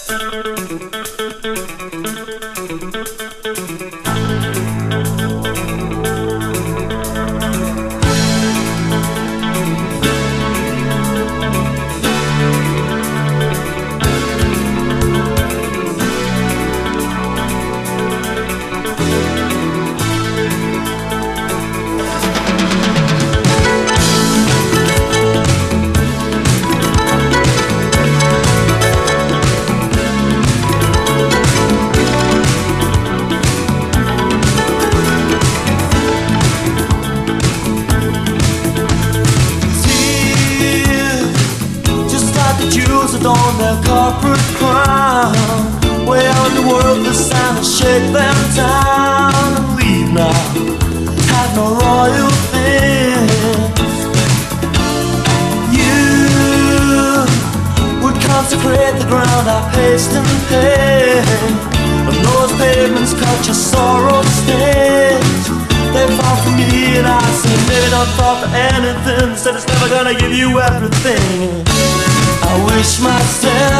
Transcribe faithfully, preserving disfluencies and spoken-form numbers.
On their corporate crown, way out in the world, the sound and shake them down and leave now. Have no royal things. You would consecrate the ground I paced and paid, and those pavements cut your sorrow stains. They fall for me and I say maybe don't fall for anything. Said it's never gonna give you everything. I wish myself